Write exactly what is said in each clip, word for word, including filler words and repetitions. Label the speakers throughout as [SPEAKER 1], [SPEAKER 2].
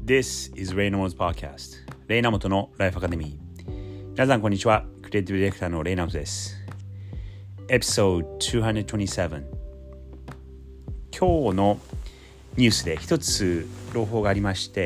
[SPEAKER 1] This is Ray Namoto's podcast レイナモトのライフアカデミー。皆さんこんにちは。クリエイティブディレクターのレイナモトです。エピソードにひゃくにじゅうなな。今日のニュースで一つ朗報がありまして、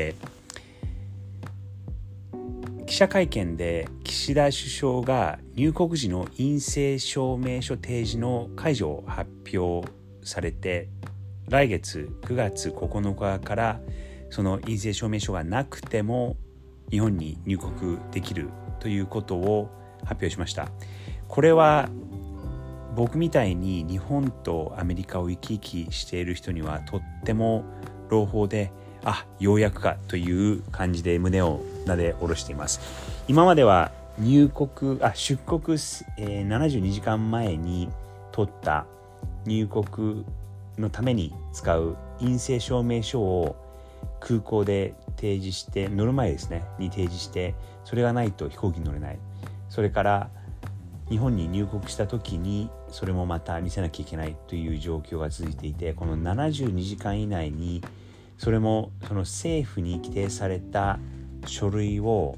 [SPEAKER 1] 記者会見で岸田首相が入国時の陰性証明書提示の解除を発表されて、来月くがつここのかからその陰性証明書がなくても日本に入国できるということを発表しました。これは僕みたいに日本とアメリカを行き来している人にはとっても朗報で、あ、ようやくかという感じで胸をなで下ろしています。今までは入国あ出国、えー、ななじゅうにじかんまえに取った入国のために使う陰性証明書を空港で提示して乗る前ですねに提示して、それがないと飛行機に乗れない。それから日本に入国した時にそれもまた見せなきゃいけないという状況が続いていて、このななじゅうにじかん以内にそれもその政府に規定された書類を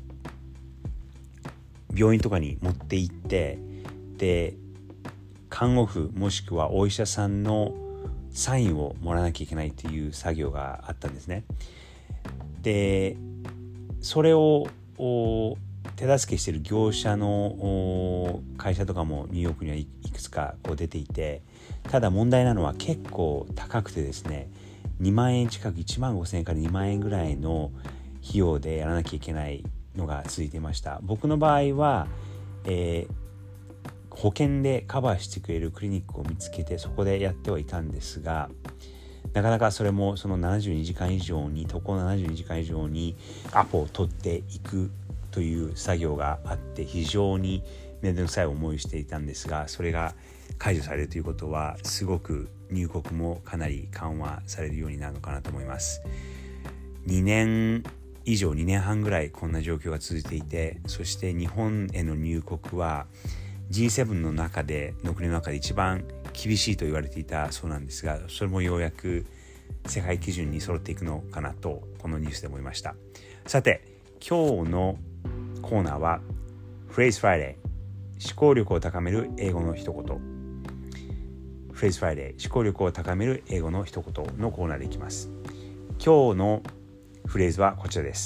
[SPEAKER 1] 病院とかに持って行って、で看護婦もしくはお医者さんのサインをもらわなきゃいけないという作業があったんですね。でそれを手助けしている業者の会社とかもニューヨークにはいくつかこう出ていて、ただ問題なのは結構高くてですね、にまんえん近く、いちまんごせんえんからにまんえんぐらいの費用でやらなきゃいけないのが続いていました。僕の場合は、えー、保険でカバーしてくれるクリニックを見つけてそこでやってはいたんですが、なかなかそれもそのななじゅうにじかん以上に渡航ななじゅうにじかん以上にアポを取っていくという作業があって、非常に面倒くさい思いをしていたんですが、それが解除されるということはすごく入国もかなり緩和されるようになるのかなと思います。にねん以上にねんはんぐらいこんな状況が続いていて、そして日本への入国は ジーセブン の中での国の中で一番厳しいと言われていたそうなんですが、それもようやく世界基準に揃っていくのかなとこのニュースで思いました。さて今日のコーナーは Phrase Friday、 思考力を高める英語の一言。 Phrase Friday、 思考力を高める英語の一言のコーナーでいきます。今日のフレーズはこちらです。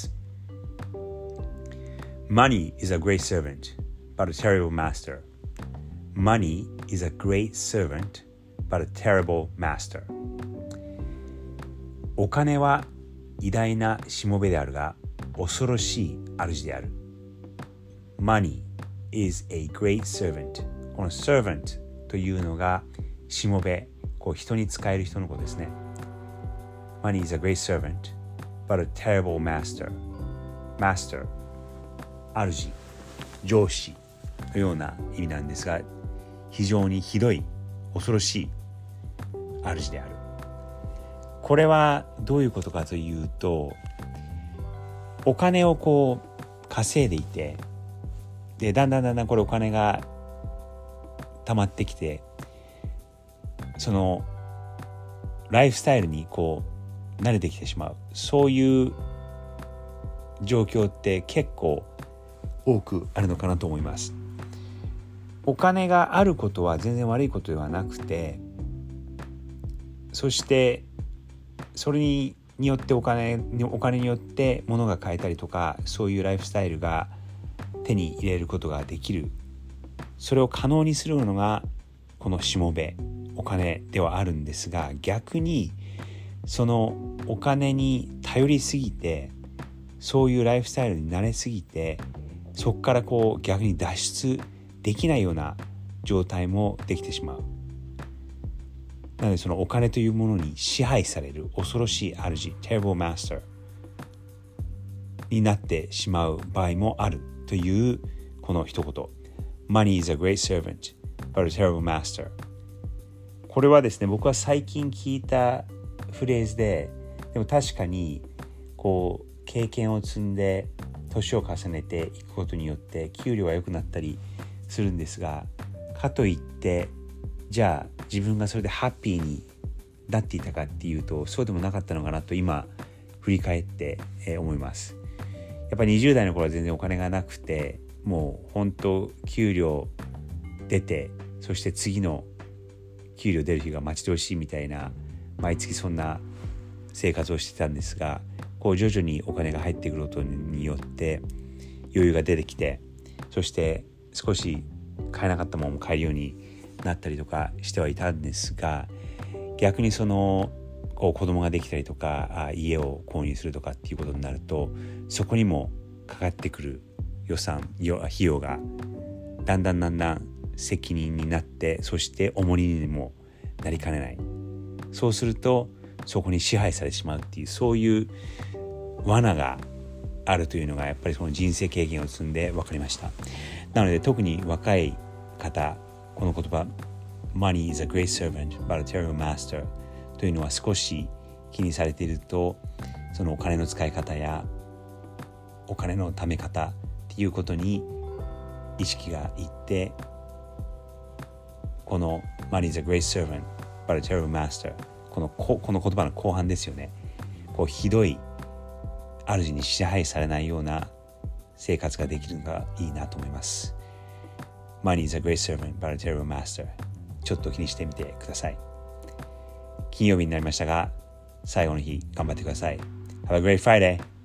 [SPEAKER 1] Money is a great servant but a terrible master. Money is a great servant but a terrible master. お金は偉大なしもべであるが恐ろしい主である。 Money is a great servant。 この servant というのがしもべ、こう人に使える人のことですね。 Money is a great servant but a terrible master。 Master、 主、上司のような意味なんですが、非常にひどい恐ろしい主である。これはどういうことかというと、お金をこう稼いでいて、でだんだんだんだんこれお金が溜まってきて、そのライフスタイルにこう慣れてきてしまう、そういう状況って結構多くあるのかなと思います。お金があることは全然悪いことではなくて、そしてそれによってお金お金によって物が買えたりとか、そういうライフスタイルが手に入れることができる。それを可能にするのがこのしもべ、お金ではあるんですが、逆にそのお金に頼りすぎて、そういうライフスタイルに慣れすぎて、そこからこう逆に脱出できないような状態もできてしまう。なのでそのお金というものに支配される恐ろしい主、 terrible master になってしまう場合もあるというこの一言。 Money is a great servant but a terrible master。 これはですね、僕は最近聞いたフレーズで、でも確かにこう経験を積んで年を重ねていくことによって給料は良くなったりするんですが、かといってじゃあ自分がそれでハッピーになっていたかっていうと、そうでもなかったのかなと今振り返って、えー、思います。やっぱりにじゅう代の頃は全然お金がなくて、もう本当給料出て、そして次の給料出る日が待ち遠しいみたいな、毎月そんな生活をしてたんですが、こう徐々にお金が入ってくることによって余裕が出てきて、そして少し買えなかったものも買えるようになったりとかしてはいたんですが、逆にそのこう子供ができたりとか、家を購入するとかっていうことになると、そこにもかかってくる予算費用がだんだんだんだん責任になって、そして重荷にもなりかねない。そうするとそこに支配されてしまうっていう、そういう罠があるというのがやっぱりその人生経験を積んで分かりました。なので特に若い方、この言葉 Money is a great servant but a terrible master というのは少し気にされていると、そのお金の使い方やお金の貯め方っていうことに意識がいって、この Money is a great servant but a terrible master、 このこの言葉の後半ですよね。こうひどい主に支配されないような生活ができるのがいいなと思います。 Money is a great servant but a terrible master、 ちょっと気にしてみてください。金曜日になりましたが、最後の日頑張ってください。Have a great Friday!